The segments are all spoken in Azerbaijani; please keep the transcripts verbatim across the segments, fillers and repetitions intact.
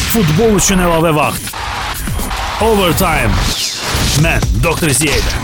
Futbol üçün əlavə vaxt. Overtime. Mən Doktor Ziyədə.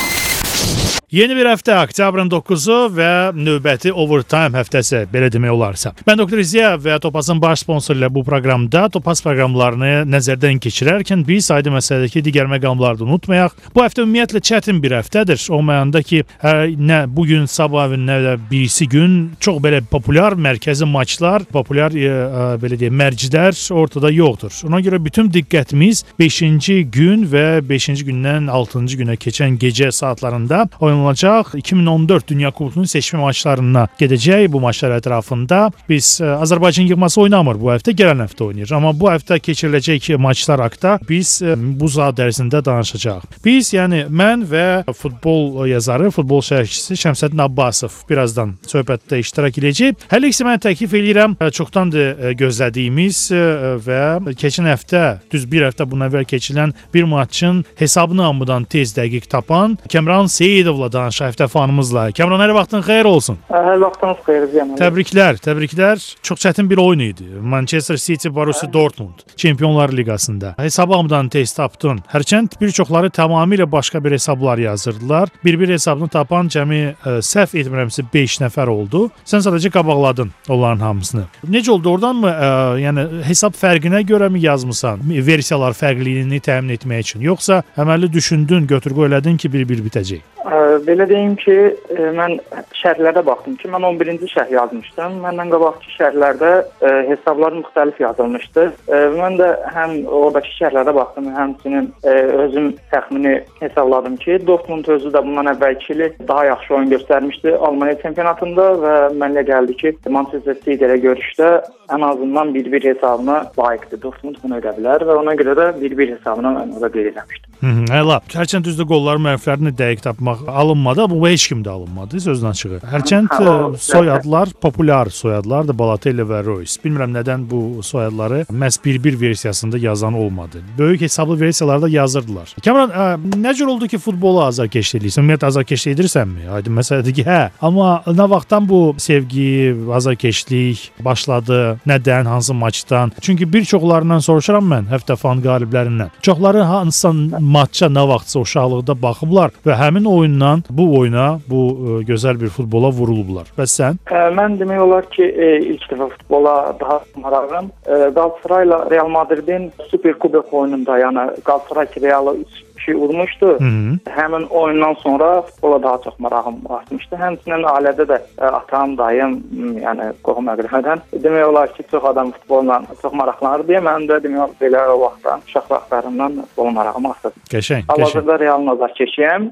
Yeni bir həftə, oktyabrın doqquzu və növbəti Overtime həftəsi, belə demək olarsa. Mən Doktor Ziya və Topazın baş sponsoru ilə bu proqramda Topaz proqramlarını nəzərdən keçirərkən biz aydın məsələdəki digər məqamları da unutmayaq. Bu həftə ümumiyyətlə çətin bir həftədir. O mənada ki, hər, nə bugün, sabah və nə də birisi gün çox belə populyar mərkəzi maçlar, populyar e, e, belə deyək, mərcilər ortada yoxdur. Ona görə bütün diqqətimiz beşinci gün və beşinci gündən altıncı günə keçən gecə saatlarında oynanılacaq. iki min on dörd Dünya Kubokunun seçmə maçlarına gedəcək. Bu maçlar ətrafında biz ə, Azərbaycan yığması oynamır bu həftə, gələn həftə oynayır. Amma bu həftə keçiriləcək maçlar haqqında biz ə, bu saat ərzində danışacağıq. Biz, yəni mən və futbol yazarı, futbol şərhçisi Şəmsəddin Abbasov birazdan söhbətdə iştirak edəcək. Hələ isə mən təklif edirəm, çoxdandır gözlədiyimiz ə, və keçən həftə, düz bir həftə bundan əvvəl keçirilən bir maçın hesabını hamıdan tez dəqiq tapan Kəmran Seyidovla danışaq həftə fanımızla. Kəmran, hər vaxtın xeyir olsun. Hər vaxtınız xeyir olsun. Təbriklər, təbriklər. Çox çətin bir oyun idi. Manchester City Borussia Dortmund Çempionlar Liqasında. Hesabı hamıdan tez tapdın. Hərçənd bir çoxları tamamilə başqa bir hesablar yazırdılar. Bir-bir hesabını tapan cəmi ə, səhv etmirəmsə beş nəfər oldu. Sən sadəcə qabaqladın onların hamısını. Necə oldu? Oradanmı ə, yəni hesab fərqinə görəmi yazmısan? Versiyalar fərqliliyini təmin etmək üçün. Yoxsa əməlli düşündün, götür-qoy elədin ki, bir-bir bitəcək? Belə deyim ki, mən şərhlərdə baxdım ki, mən on birinci şərh yazmışdım. Məndən qabaqki şərhlərdə hesablar müxtəlif yazılmışdı. Mən də həm oradakı şərhlərdə baxdım, həmçinin özüm təxmini hesabladım ki, Dortmund özü də bundan əvvəlki il daha yaxşı oyun göstərmişdi Almaniya çempionatında və mənə gəldi ki, Manchester City ilə görüşdə ən azından bir-bir hesabına layiqdir. Dortmund bunu edə bilər və ona görə də bir-bir hesabına mən orada qeyd eləmişdim. Hələ, hərçənd düzdür qolların mənflərini dəqiq tapmaq alınmadı, bu heç kimdə alınmadı, sözün açığı. Hərçənd soyadlar, populyar soyadlardır, Balotelli və Reus. Bilmirəm nədən bu soyadları məhz bir-bir versiyasında yazan olmadı. Böyük hesablı versiyalarda yazırdılar. Kəmran, ə, nə cür oldu ki, futbolu azarkeşlik edirsən? Ümumiyyətlə azarkeşlik edirsənmi? Aydın məsələdir ki, hə. Amma nə vaxtdan bu sevgi, azarkeşlik başladı? Nədən, hansı maçdan? Çünki bir çoxlarından soruşuram mən, həftə fan qaliblərindən. Çoxları hansı maçça nə vaxtsa uşaqlıqda baxıblar və həmin oyundan bu oyuna, bu ə, gözəl bir futbola vurulublar. Bəs sən? Ə, mən demək olar ki, e, ilk dəfə futbola daha maraqlıyam. Qalatasarayla Real Madridin Super Kubok oyununda, yəni Galatasaray ki, Real'a üç kişi vurmuşdu. Hı -hı. Həmin oyundan sonra futbola daha çox marağım artmışdı. Həmçinin ailədə də ə, atam, dayım, yəni qohum əqrəbədən demək olar ki, çox adam futbolla çox maraqlanır deyə mən də demək olar belə o vaxtdan, uşaq vaxtlarından futbola marağım artdı. Qəşəng, qəşəng. Hal-hazırda Real azarkeşiyəm.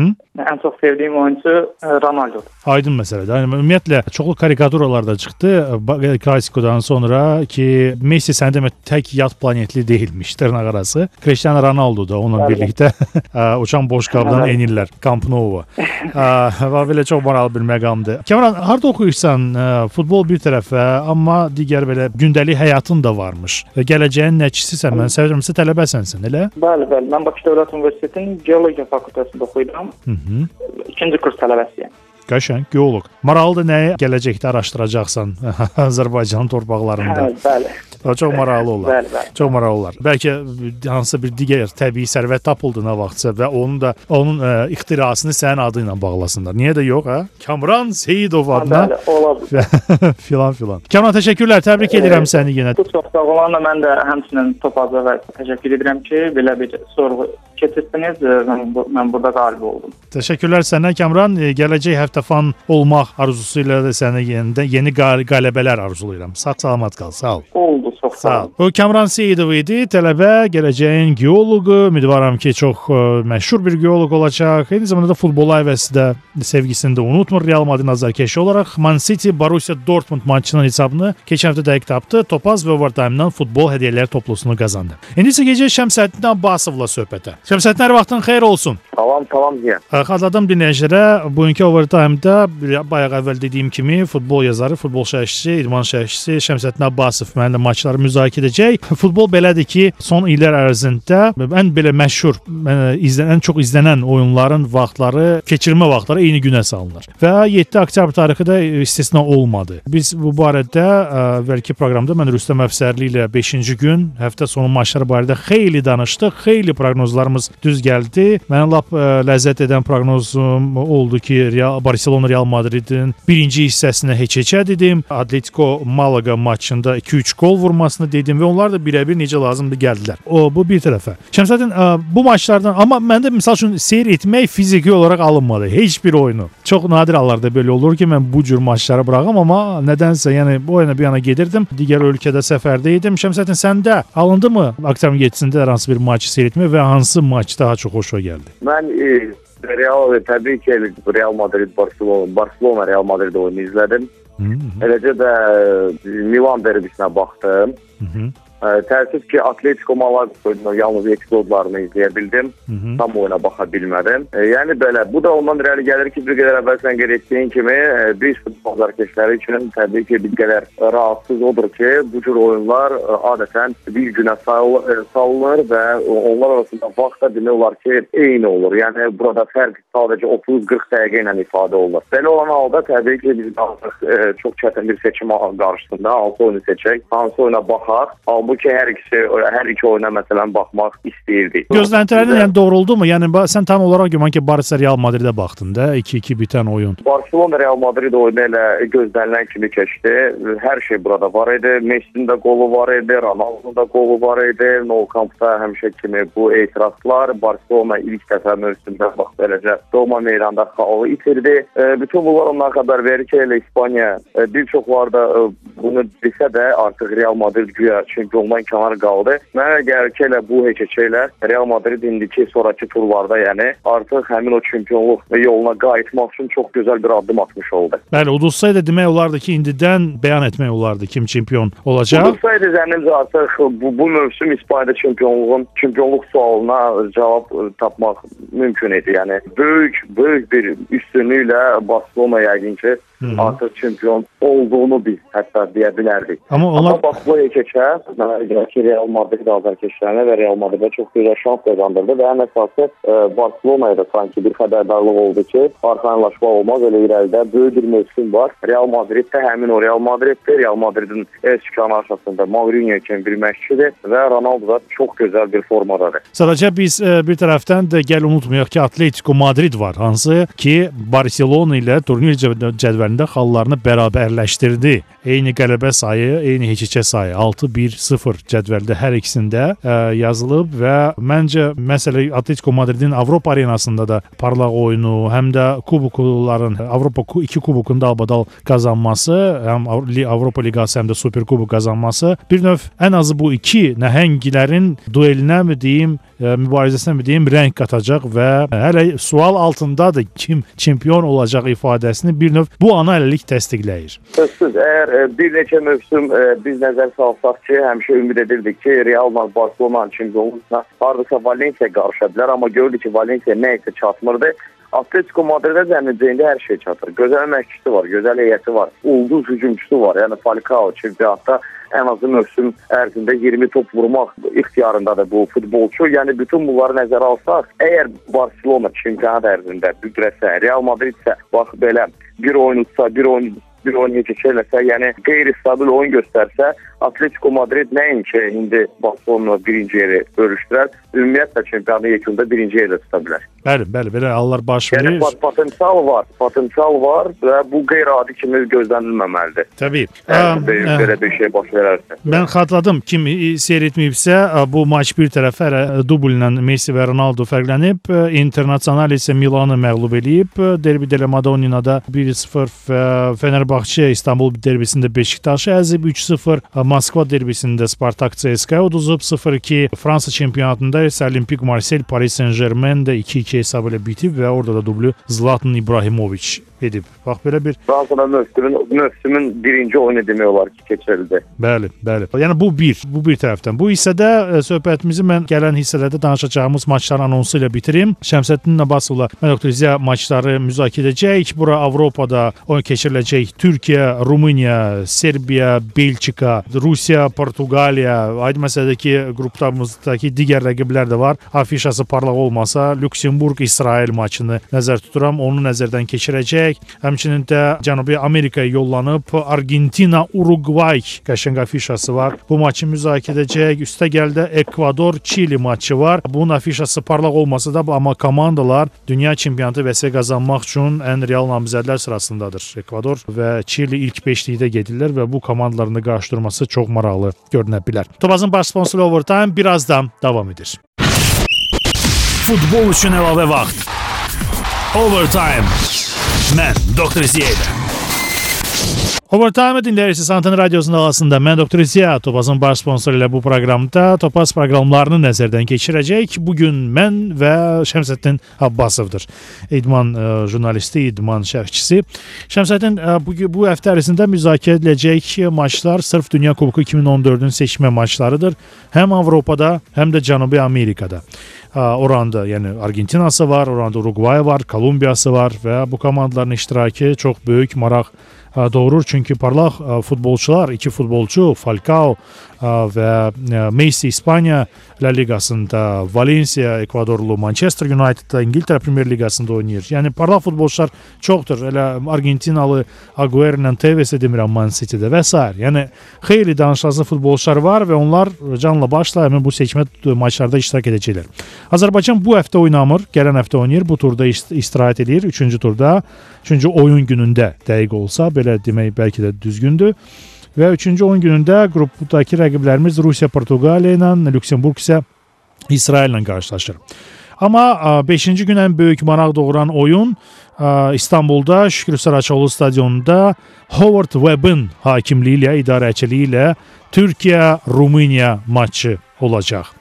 Ən çox sevdiyim oyuncu Ronaldodur. Aydın məsələdir. Yəni, ümumiyyətlə, çoxlu karikaturalar da çıxdı Klasikodan sonra ki, Messi sən demə tək yad planetli deyilmiş, dırnaq arası. Cristiano Ronaldo da onunla birlikdə uçan boş qabdan enirlər. Camp Nou. Və belə çox maraqlı bir məqamdır. Kəmran, harada oxuyursan? Futbol bir tərəfə, amma digər belə gündəlik həyatın da varmış. Gələcəyin nəticisisən, mən səvirəmsə tələbəsənsən, elə? Bəli, bəli. Mən Bakı Dövlət Universitetinin Geologiya fakültəsində oxuyuram. Hı -hı. İkinci kurs tələbəsiyəm. Qəşəng, geoloq. Maraqlıdır nəyi gələcəkdə araşdıracaqsan Azərbaycanın torpaqlarında. Hə, bəli. O çox maraqlı olar. Bəli, bəli. Çox maraqlı olar. Bəlkə hansısa bir digər təbii sərvət tapıldı nə vaxtsa və onun da onun ə, ixtirasını sənin adı ilə bağlasınlar. Niyə də yox, hə? Kamran Seyidov adına. Bəli, olabilir. filan filan. Kamran, təşəkkürlər. Təbrik edirəm səni yenə. Çox sağ olun. Mən də həmçinin Topaza və təşəkkür edirəm ki, belə bir sorğu keçirdiniz. Mən, mən burada qalib oldum. Təşəkkürlər sənə Kamran. Gələcək həftə fan olmaq arzusu ilə də sənə yeni, yeni qələbələr arzulayıram. Sağ-salamat qal. Sağ ol. Oldu. Çox sağ ol. O Kamran Seyidov idi, tələbə, gələcəyin geoloqu. Ümidvaram ki, çox ə, məşhur bir geoloq olacaq. Eyni zamanda da futbola həvəsi də sevgisini də unutmur. Real Madrid azarkeşi olaraq Man City Borussia Dortmund maçının hesabını keçən həftə dəqiq tapdı. Topaz və Overtime-dan futbol hədiyyələri toplusunu qazandı. İndi isə gecə Şəmsəddin Abbasovla söhbətə. Şəmsəddin, hər vaxtın xeyir olsun. Tamam, tamam deyə. Xatırladım dinləyicilərə, bugünkü Overtime-da bayaq əvvəl dediyim kimi futbol yazarı, futbol şərhçisi, idman şərhçisi Şəmsəddin Abbasov mənimlə maçları müzakirə edəcək. Futbol belədir ki, son illər ərzində ən belə məşhur, izlənən, ən çox izlənən oyunların vaxtları, keçirmə vaxtları eyni günə salınır. Və yeddi oktyabr tarixi də istisna olmadı. Biz bu barədə əvvəlki proqramda mən Rüstəm Əfsərli ilə beşinci gün həftə sonu maçları barədə xeyli danışdıq. Xeyli proqnozlarımız düz gəldi. Mənə lap ə, ləzzət edən proqnozum oldu ki, Real, Barcelona Real Madridin birinci hissəsinə heç-heçə dedim. Atletico Malaga maçında iki üç gol vurmasını dedim və onlar da birə-bir necə lazımdır gəldilər. O bu bir tərəfə. Şəmsəddin, ə, bu maçlardan amma məndə məsəl üçün seyr etmək fiziki olaraq alınmadı. Heç bir oyunu. Çox nadir hallarda belə olur ki, mən bu cür maçları buraxım, amma nədənsə, yəni bu oyuna bir yana gedirdim. Digər ölkədə səfərdə idim. Şəmsəddin, səndə alındı mı oktyabr yeddisində hansı bir maçı seyr etmək və hansı maç daha çox xoşuna gəldi? Mən e, Real təbii ki Real Madrid Barcelona Barcelona Real Madrid oyunu izlədim. Hı -hı. Eləcə də Milan derbisinə baxdım. Hı -hı. Təəssüf ki, Atletico Malaga oyununun yalnız epizodlarını izləyə bildim. Hı -hı. Tam oyuna baxa bilmədim. E, yəni belə, bu da ondan irəli gəlir ki, bir qədər əvvəl sən qeyd etdiyin kimi, e, biz futbol azarkeşləri üçün təbii ki, bir qədər rahatsız odur ki, bu cür oyunlar e, adətən bir günə salınır və onlar arasında vaxt da demək olar ki, eyni olur. Yəni, burada fərq sadəcə otuz qırx dəqiqə ilə ifadə olur. Belə olan halda təbii ki, biz artıq e, çox çətin bir seçim qarşısında hansı oyunu seçək, hansı oyuna baxaq. Bu ki, hər ikisi, hər iki oyuna məsələn baxmaq istəyirdik. Gözləntilərin yəni doğruldu mu? Yəni sən tam olaraq güman ki, Barça Real Madridə baxdın da, iki iki bitən oyun. Barcelona Real Madrid oyunu elə gözlənilən kimi keçdi. Hər şey burada var idi. Messi'nin də qolu var idi, Ronaldo'nun da qolu var idi. Nou Camp'da həmişə kimi bu etirazlar. Barcelona ilk dəfə mövsümdə bax beləcə Roma meydanda xalı itirdi. E, bütün bunlar ondan xəbər verir ki, elə İspaniya e, bir çoxlar da e, bunu desə də artıq Real Madrid güya çempiondan kənar qaldı. Mənə gəlir ki, elə bu heç-heçə ilə Real Madrid indiki sonraki turlarda, yəni artıq həmin o çempionluq yoluna qayıtmaq üçün çox gözəl bir addım atmış oldu. Bəli, udulsaydı demək olardı ki, indidən bəyan etmək olardı kim çempion olacaq. Udulsaydı zənnimcə artıq bu, bu mövsüm İspaniyada çempionluğun çempionluq sualına cavab tapmaq mümkün idi. Yəni böyük böyük bir üstünlüklə Barcelona yəqin ki, Hı-hı. artıq çempion olduğunu biz hətta deyə bilərdik. Amma, onlar... Amma bax bu keçə, mənə gəlir ki, Real Madrid azarkeşlərinə və Real Madridə çox gözəl şans qazandırdı və ən əsası e, Barcelona'ya da sanki bir xəbərdarlıq oldu ki, arxayınlaşma olmaz, elə irəlidə böyük bir mövsüm var. Real Madriddə həmin o Real Madriddir. Real Madridin eskikanı arxasında Mourinho kimi bir məşqçidir və Ronaldo da çox gözəl bir formadadır. Sadəcə biz e, bir tərəfdən də gəl unutmayaq ki, Atletico Madrid var, hansı ki Barcelona ilə turnir cədvəlində xallarını bərabərləşdirdi. Eyni qələbə sayı, eyni heç-heçə sayı altı bir sıfır cədvəldə hər ikisində ə, yazılıb və məncə məsələ Atletico Madridin Avropa arenasında da parlaq oyunu, həm də kubokların, Avropa iki kubokunda albadal qazanması, həm Avropa Liqası, həm də Super Kubok qazanması bir növ ən azı bu iki nəhənglərin duelinə mi deyim, ə, mübarizəsinə mi deyim, rəng qatacaq və hələ sual altındadır kim çempion olacaq ifadəsini bir növ bu ana hələlik təsdiqləyir. Sözsüz, əgər bir neçə mövsüm ə, biz nəzər salsaq ki, həmişə ümid edirdik ki, Real Barcelona çempionluğuna hardasa Valencia qarışa bilər, amma gördük ki, Valencia nə isə çatmırdı. Atletico Madrid'ə zənnəcəyində hər şey çatır. Gözəl məşqçisi var, gözəl heyəti var, ulduz hücumçusu var. Yəni Falcao çempionatda ən azı mövsüm ərzində iyirmi top vurmaq ixtiyarındadır bu futbolçu. Yəni bütün bunları nəzərə alsaq, əgər Barcelona çempionat ərzində büdrəsə, Real Madrid isə bax belə bir oyun utsa, bir oyun bir oyun keçirləsə, yəni qeyri-stabil oyun göstərsə, Atletico Madrid nəinki indi Barcelona birinci yeri bölüşdürər, ümumiyyətlə çempionatın yekununda birinci yerdə tuta bilər. Bəli, bəli, belə hallar baş verir. Yəni potensial var, potensial var və bu qeyri-adi kimi gözlənilməməlidir. Təbii. Yəni, ə, belə bir şey baş verərsə. Mən xatırladım, kim seyr etməyibsə, bu maç bir tərəfə dubl ilə Messi və Ronaldo fərqlənib, Internazionale isə Milanı məğlub eləyib, Derbi della Madonnina'da bir sıfır, Fenerbahçe İstanbul derbisində Beşiktaşı əzib, üç sıfır, Moskva derbisində Spartak C S K-ya uduzub, sıfır iki, Fransa çempionatında isə Olimpik Marseille Paris Saint-Germain də iki iki hesabı ilə bitib və orada da dublu Zlatan İbrahimovic edib. Bax belə bir Fransada mövsümün, mövsümün birinci oyunu demək olar ki, keçirildi. Bəli, bəli. Yəni bu bir, bu bir tərəfdən. Bu hissədə ə, söhbətimizi mən gələn hissələrdə danışacağımız maçlar anonsu ilə bitirim. Şəmsəddin Abbasovla mən doktor Ziya maçları müzakirə edəcəyik. Bura Avropada oyun keçiriləcək. Türkiyə, Rumıniya, Serbiya, Belçika, Rusiya, Portuqaliya, aydın məsələdir ki, qruplarımızdakı digər rəqiblər də var. Afişası parlaq olmasa, Lüksemburq, İsrail maçını nəzər tuturam. Onu nəzərdən keçirəcək. Həmçinin də Cənubi Amerikaya yollanıb Argentina, Uruguay qəşəng afişası var. Bu maçı müzakirə edəcək. Üstə gəldə Ekvador, Çili maçı var. Bunun afişası parlaq olmasa da, amma komandalar dünya çempionatı vəsə qazanmaq üçün ən real namizədlər sırasındadır. Ekvador və Çili ilk beşlikdə gedirlər və bu komandalarını qarşıdurması çox maraqlı görünə bilər. Topazın baş sponsoru Overtime birazdan davam edir. Futbol üçün əlavə vaxt. Overtime. Mən doktor Ziya. Overtime dinləyirsiniz Anten Radiosunun alasında. Mən doktor Ziya, Topazın baş sponsoru ilə bu proqramda Topaz proqramlarını nəzərdən keçirəcək. Bugün mən və Şəmsəddin Abbasovdur. İdman ə, jurnalisti, idman şərhçisi. Şəmsəddin ə, bu, bu həftə ərzində müzakirə ediləcək maçlar sırf Dünya Kuboku iki min on dördün seçmə maçlarıdır. Həm Avropada, həm də Cənubi Amerikada. Oranda yəni Argentinası var, oranda Uruguay var, Kolumbiyası var və bu komandaların iştirakı çox böyük maraq doğurur. Çünki parlaq futbolçular, iki futbolçu Falcao və Messi İspaniya La Ligasında, Valencia Ekvadorlu, Manchester United'da İngiltərə Premier Ligasında oynayır. Yəni parlaq futbolçular çoxdur. Elə Argentinalı Agüero ilə Tevez demirəm Man City'də və s. Yəni xeyli danışılan futbolçular var və onlar canla başla həmin bu seçmə maçlarda iştirak edəcəklər. Azərbaycan bu həftə oynamır, gələn həftə oynayır. Bu turda istirahət edir. Üçüncü turda, üçüncü oyun günündə dəqiq olsa, belə demək bəlkə də düzgündür. Və üçüncü oyun günündə qrupdakı rəqiblərimiz Rusiya, Portuqaliya ilə, Lüksemburq isə İsrail ilə qarşılaşır. Amma beşinci gün ən böyük maraq doğuran oyun İstanbulda Şükrü Saraçoğlu stadionunda Howard Webb'in hakimliyi ilə, idarəçiliyi ilə Türkiyə-Rumıniya maçı olacaq.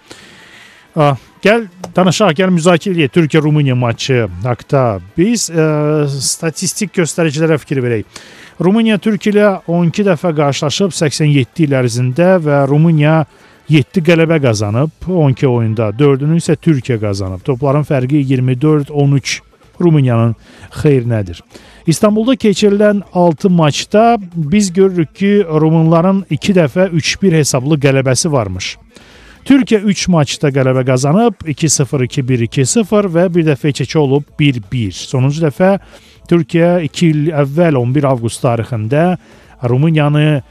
Gəl danışaq, gəl müzakirə edək Türkiyə-Rumıniya maçı haqqında. Biz ə, statistik göstəricilərə fikir verək. Rumıniya Türkiyə ilə on iki dəfə qarşılaşıb səksən yeddi il ərzində və Rumıniya yeddi qələbə qazanıb on iki oyunda, dördünü isə Türkiyə qazanıb. Topların fərqi iyirmi dörd on üç Rumıniyanın xeyrinədir. İstanbulda keçirilən altı maçda biz görürük ki, Rumunların iki dəfə üç bir hesablı qələbəsi varmış. Türkiyə üç maçda qələbə qazanıb iki sıfır, iki bir, iki sıfır və bir dəfə keçə olub bir bir. Sonuncu dəfə Türkiyə iki il əvvəl on bir avqust tarixində Rumıniyanı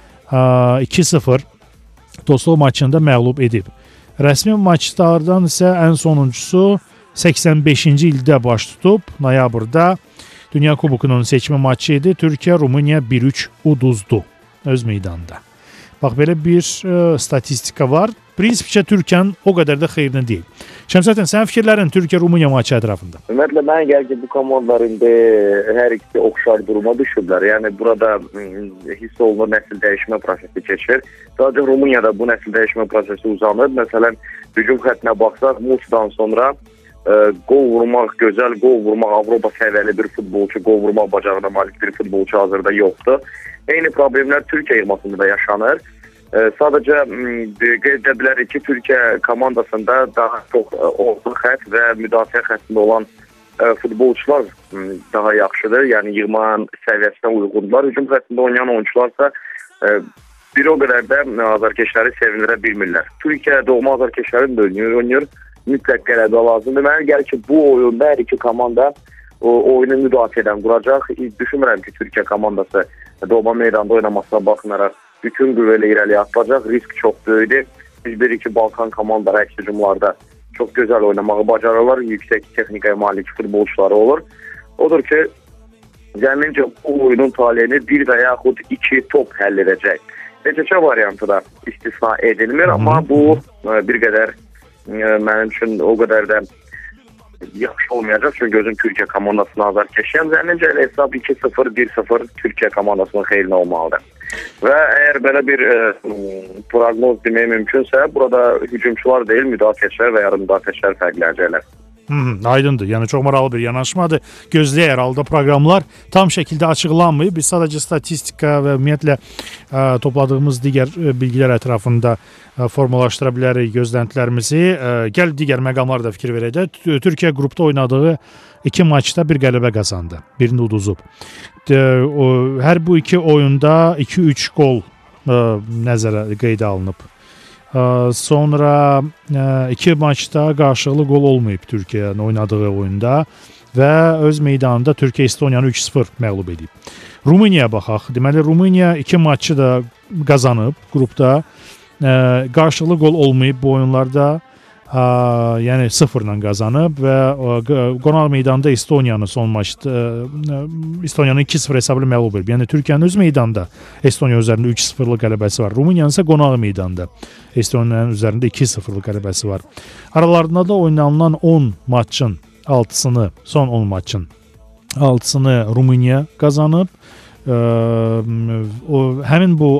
iki sıfır dostluq maçında məğlub edib. Rəsmi maçlardan isə ən sonuncusu səksən beşinci ildə baş tutub, noyabrda Dünya Kubokunun seçmə maçı idi. Türkiyə Rumıniya bir üç uduzdu öz meydanında. Bax, belə bir ə, statistika var. Prinsipcə Türkiyənin o qədər də xeyrinə deyil. Şəmsəddin, sənin fikirlərin Türkiyə-Rumıniya maçı ətrafında? Ümumiyyətlə, mənə gəlir ki, bu komandalar indi hər ikisi oxşar duruma düşüblər. Yəni, burada hiss olunur nəsil dəyişmə prosesi keçir. Sadəcə Rumuniyada bu nəsil dəyişmə prosesi uzanır. Məsələn, hücum xəttinə baxsaq, Musi'dan sonra ə, qol vurmaq, gözəl qol vurmaq, Avropa səviyyəli bir futbolçu, qol vurmaq bacarığına malik bir futbolçu hazırda yoxdur. Eyni problemlər Türkiyə yığmasında da yaşanır. E, sadəcə qeyd edə bilərik ki, Türkiyə komandasında daha çox orta xətt və müdafiə xəttində olan e, futbolçular daha yaxşıdır. Yəni yığmanın səviyyəsinə uyğundular. Hücum xəttində oynayan oyunçularsa e, bir o qədər də azarkeşləri sevindirə bilmirlər. Türkiyə doğma azarkeşlərin də oynayır. Mütləq qələbə lazımdır. Mənə gəlir ki, bu oyunda hər iki komanda o, oyunu müdafiədən quracaq. Düşünmürəm ki, Türkiyə komandası doğma meydanda oynamasına baxmayaraq bütün qüvvə ilə irəliyə atılacaq. Risk çox böyükdür. Biz bilirik ki, Balkan komandaları əks hücumlarda çox gözəl oynamağı bacarırlar. Yüksək texnikaya malik futbolçuları olur. Odur ki, zəmincə bu oyunun taleyini bir və yaxud iki top həll edəcək. Neçə variantı da istisna edilmir, amma bu bir qədər mənim üçün o qədər də yaxşı olmayacaq. Çünki gözüm Türkiyə komandasına azar keçəyəm. Zəmincə hesab iki sıfır, bir sıfır Türkiyə komandasının xeyrinə olmalıdır. Və əgər belə bir e, proqnoz demək mümkünsə, burada hücumçular deyil, müdafiəçilər və yarım müdafiəçilər fərqlənəcəklər. Hı, aydındır. Yəni çox maraqlı bir yanaşmadır. Gözləyək halda proqramlar tam şəkildə açıqlanmayıb. Biz sadəcə statistika və ümumiyyətlə ə, topladığımız digər ə, bilgilər ətrafında ə, formalaşdıra bilərik gözləntilərimizi. Ə, gəl digər məqamlara da fikir verək də. Türkiyə qrupda oynadığı iki maçda bir qələbə qazandı. Birini uduzub. Də, o, hər bu iki oyunda iki üç qol ə, nəzərə qeydə alınıb. Sonra iki maçda qarşılıqlı qol olmayıb Türkiyənin oynadığı oyunda və öz meydanında Türkiyə Estoniyanı üç sıfır məğlub edib. Rumuniyaya baxaq. Deməli Rumuniya iki maçı da qazanıb qrupda. Qarşılıqlı qol olmayıb bu oyunlarda. Yəni sıfırla qazanıb və qonaq meydanında Estoniyanı son maçda Estoniyanı iki sıfır hesablı məğlub edib. Yəni Türkiyənin öz meydanında Estoniya üzərində üç sıfırlıq qələbəsi var. Rumuniyanın isə qonaq meydanda Estoniyanın üzərində iki sıfırlıq qələbəsi var. Aralarında da oynanılan on maçın altısını, son on maçın altısını Rumuniya qazanıb. Ə, o, həmin bu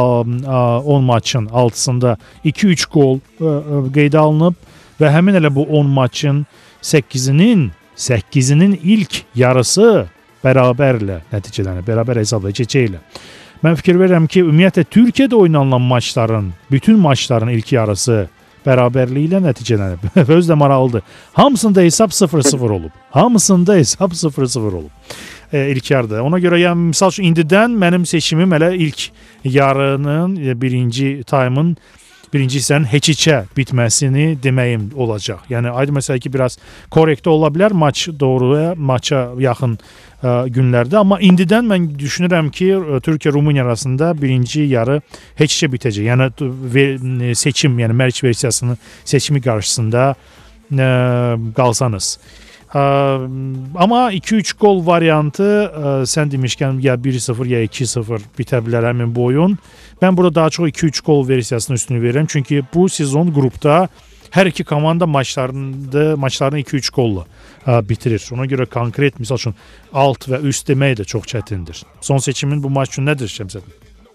on maçın altısında iki üç qol ə, qeydə alınıb və həmin elə bu on maçın səkkizinin səkkizinin ilk yarısı bərabərlə nəticələnib, bərabər hesabla keçəklə. Mən fikir verirəm ki, ümumiyyətlə Türkiyədə oynanılan maçların, bütün maçların ilk yarısı bərabərliyi ilə nəticələnib. Özü də maraqlıdır. Hamısında hesab sıfır sıfır olub. Hamısında hesab sıfır sıfır olub. E, ilk yarıda. Ona görə yəni misal üçün indidən mənim seçimim elə ilk yarının birinci time'ın birinci hissənin heç-içə bitməsini deməyim olacaq. Yəni aydın məsələ ki, biraz korrekt ola bilər maç doğruya, maça yaxın ə, günlərdə, amma indidən mən düşünürəm ki, Türkiyə-Rumuniya arasında birinci yarı heç-içə bitəcək. Yəni ver, seçim, yəni mərc versiyasının seçimi qarşısında ə, qalsanız. Ə, amma iki üç qol variantı ə, sən demişkən ya bir sıfır ya iki sıfır bitə bilər həmin bu oyun. Mən burada daha çox iki üç qol versiyasına üstünü verirəm. Çünki bu sezon qrupda hər iki komanda maçlarında maçlarını iki üç qolla ə, bitirir. Ona görə konkret misal üçün alt və üst demək də çox çətindir. Son seçimin bu maç üçün nədir Şəmsədin?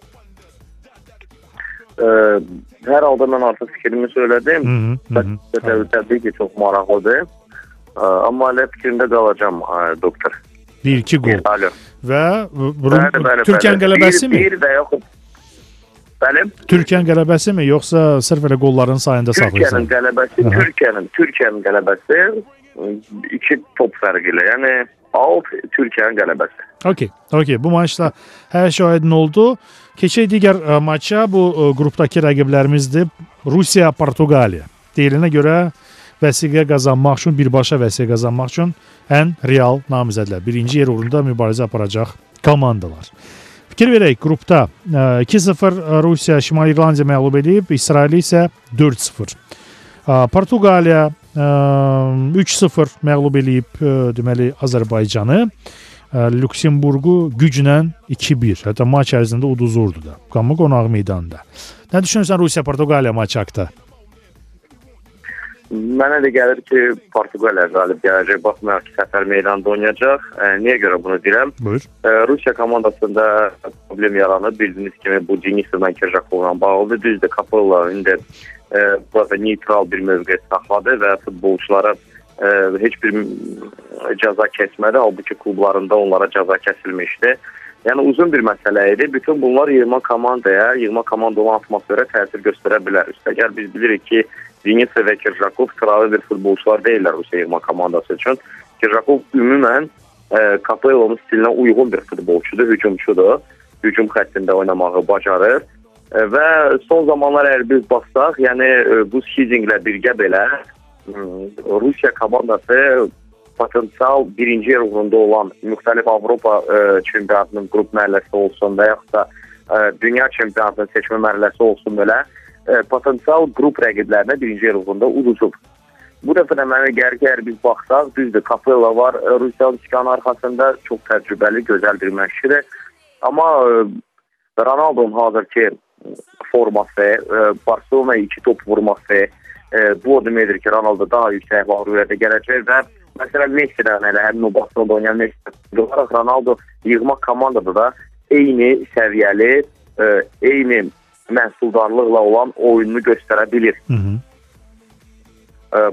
Ə, hər halda mən artıq fikrimi söylədim. Təbii ki, çox maraqlıdır. Ə, amma elə fikrimdə qalacağım ə, doktor. bir iki qol. Alo. Və Türkiyənin qələbəsi mi? Bir və yaxud Bəlim? Türkiyənin qələbəsi mi, yoxsa sırf elə qolların sayında saxlayırsan? Türkiyənin qələbəsi, Türkiyənin, Türkiyənin qələbəsi iki top fərqi ilə. Yəni alt Türkiyənin qələbəsi. Okey, okey. Bu maçda hər şey aydın oldu. Keçək digər ə, maça. Bu ə, qrupdakı rəqiblərimizdir. Rusiya, Portuqaliya. Deyilinə görə vəsiqə qazanmaq üçün, birbaşa vəsiqə qazanmaq üçün ən real namizədlər. Birinci yer uğrunda mübarizə aparacaq komandalar. Fikir verək, qrupda iki sıfır Rusiya Şimali İrlandiya məğlub edib, İsrail isə dörd sıfır. Portuqaliya üç sıfır məğlub edib, deməli Azərbaycanı. Lüksemburqu güclə iki bir. Hətta maç ərzində uduzurdu da. Qamı qonaq meydanında. Nə düşünürsən Rusiya Portuqaliya maçı haqqında? Mənə də gəlir ki, Portuqaliya qalib gələcək. Baxmayaraq ki, səfər meydanda oynayacaq. E, niyə görə bunu deyirəm? E, Rusiya komandasında problem yaranıb. Bildiyiniz kimi bu Denisovla Kirjakovla bağlıdır. Düzdür, Kapella indi e, burada neytral bir mövqe saxladı və futbolçulara e, heç bir cəza kəsmədi. Halbuki klublarında onlara cəza kəsilmişdi. Yəni uzun bir məsələ idi. Bütün bunlar yığma komandaya, yığma komanda olan atmosferə təsir göstərə bilər. Üstəgəl biz bilirik ki, Denisov və Kirjakov sıravi bir futbolçular deyirlər Rusiya yığma komandası üçün. Kirjakov ümumən e, Kapellanın stilinə uyğun bir futbolçudur, hücumçudur. Hücum xəttində oynamağı bacarır. E, və son zamanlar əgər biz baxsaq, yəni e, bu Şizinglə birgə belə e, Rusiya komandası potensial birinci yer uğrunda olan müxtəlif Avropa e, çempionatının qrup mərhələsi olsun və yaxud da e, dünya çempionatının seçmə mərhələsi olsun belə e, potensial qrup rəqiblərinə birinci yer uğrunda uduzub. Bu dəfə də mənə gəlir ki, əgər biz baxsaq, düzdür, Kapella var, e, Rusiyanın çıkanın arxasında çox təcrübəli, gözəl bir məşqçidir. Amma e, Ronaldo'nun hazırki forması, e, Barcelona'ya iki top vurması, e, bu o deməkdir ki, Ronaldo daha yüksək məğlubiyyətə gələcək və məsələn Messi'dən elə həmin o Barcelona'da oynayan Messi olaraq Ronaldo yığma komandada da eyni səviyyəli, e, eyni məhsuldarlıqla olan oyununu göstərə bilir. Hı -hı. E,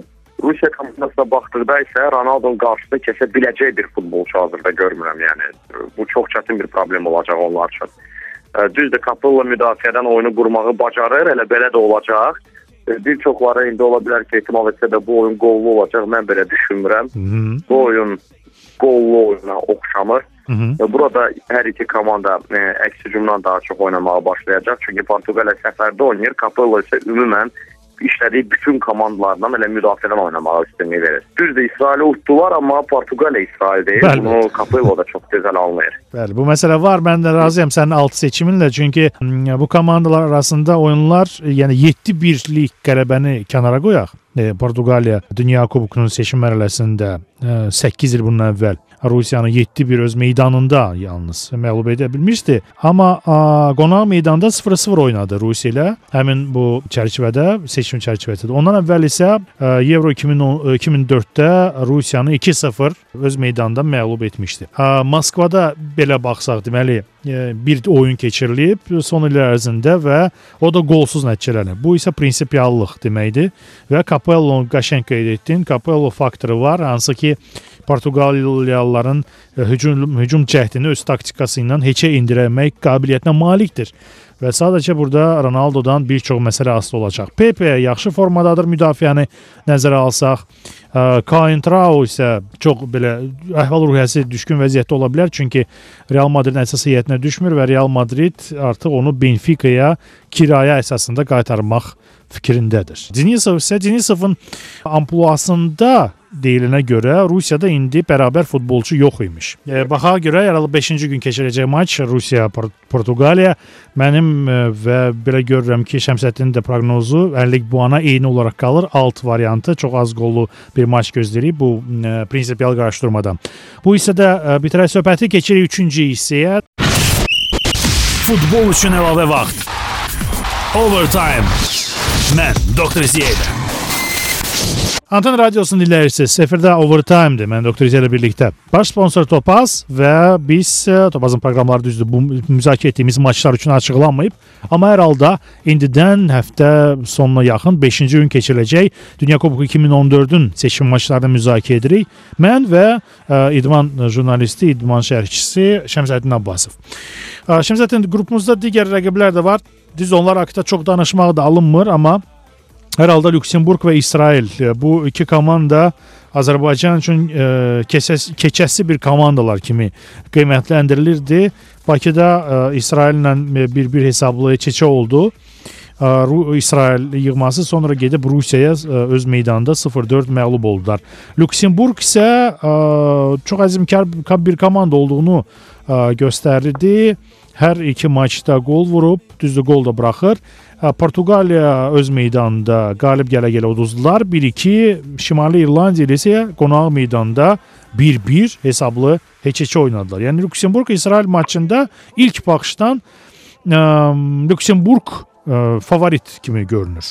Rusiya komandasına baxdıqda isə Ronaldonun qarşısında kəsə biləcək bir futbolçu hazırda görmürəm. Yəni bu çox çətin bir problem olacaq onlar üçün. Düzdür, Capello müdafiədən oyunu qurmağı bacarır, elə belə də olacaq. Bir çoxları indi ola bilər ki, ehtimal etsə də bu oyun qollu olacaq. Mən belə düşünmürəm. Hı-hı. Bu oyun qollu oyuna oxşamır. Hı-hı. Burada hər iki komanda e, əks hücumdan daha çox oynamağa başlayacaq. Çünki Portuqaliya səfərdə oynayır. Capello isə ümumən işlədiyi bütün komandalardan elə müdafiədən oynamağa üstünlük verir. Düzdür, İsraili utdular, amma Portuqaliya İsrail deyil. Bəli. Bunu Capello da çox gözəl anlayır. Bəli, bu məsələ var. Mən də razıyam sənin altı seçiminlə. Çünki bu komandalar arasında oyunlar, yəni yeddi birlik qələbəni kənara qoyaq. E, Portuqaliya Dünya Kubokunun seçim mərhələsində e, səkkiz il bundan əvvəl Rusiyanı yeddi bir öz meydanında yalnız məğlub edə bilmişdi. Amma a, qonaq meydanda sıfır sıfır oynadı Rusiya ilə. Həmin bu çərçivədə, seçim çərçivəsində. Ondan əvvəl isə a, Euro iki min dörddə Rusiyanı iki sıfır öz meydanında məğlub etmişdi. A, Moskvada belə baxsaq, deməli bir oyun keçirilib son illər ərzində və o da qolsuz nəticələnib. Bu isə prinsipiallıq deməkdir və Capello'nun qəşəng qeyd etdin. Capello faktoru var, hansı ki Portuqaliyalıların hücum, hücum cəhdini öz taktikası ilə heçə indirmək qabiliyyətinə malikdir. Və sadəcə burada Ronaldo'dan bir çox məsələ asılı olacaq. Pepe yaxşı formadadır, müdafiəni nəzərə alsaq. Coentrao isə çox belə əhval-ruhiyyəsi düşkün vəziyyətdə ola bilər. Çünki Real Madridin əsas heyətinə düşmür və Real Madrid artıq onu Benfica'ya kirayə əsasında qaytarmaq fikrindədir. Denisov isə Denisovun ampluasında deyilinə görə Rusiyada indi bərabər futbolçu yox imiş. E, baxa görə yaralı beşinci gün keçiriləcək maç Rusiya-Portuqaliya mənim e, və belə görürəm ki, Şəmsəddinin də proqnozu əllik puana eyni olaraq qalır. Alt variantı çox az qollu bir maç gözləyirik bu e, prinsipial qarşıdurmadan. Bu hissədə e, bitirək söhbəti, keçirik üçüncü hissəyə. Futbol üçün əlavə vaxt. Overtime. Mən Doktor Ziyədə. Anten Radyosu'nun dinləyirsiniz. Sefirdə Overtime'dir. Mən Doktor İzə ilə birlikdə. Baş sponsor Topaz və biz Topazın proqramları düzdür. Bu müzakirə etdiyimiz maçlar üçün açıqlanmayıb. Amma hər halda indidən həftə sonuna yaxın beşinci gün keçiriləcək Dünya Kuboku iki min on dördün seçim maçlarını müzakirə edirik. Mən və ə, idman jurnalisti, idman şərhçisi Şəmsəddin Abbasov. Ə, Şəmsəddin, qrupumuzda digər rəqiblər də var. Düz onlar haqqında çox danışmaq da alınmır, amma hər halda Lüksemburq və İsrail, bu iki komanda Azərbaycan üçün e, keçəs, keçəsi bir komandalar kimi qiymətləndirilirdi. Bakıda e, İsraillə bir-bir hesablı keçə oldu. E, İsrail yığması sonra gedib Rusiyaya e, öz meydanında sıfır dörd məğlub oldular. Lüksemburq isə e, çox əzmkar bir komanda olduğunu e, göstərirdi. Hər iki maçda gol vurub, düzdür gol da buraxır. Portuqaliya öz meydanında qalib gələ-gələ uduzdular. bir iki Şimali İrlandiya ilə isə qonaq meydanda bir bir hesablı heç-heçə oynadılar. Yəni Lüksemburq-İsrail maçında ilk baxışdan ə, Lüksemburq ə, favorit kimi görünür.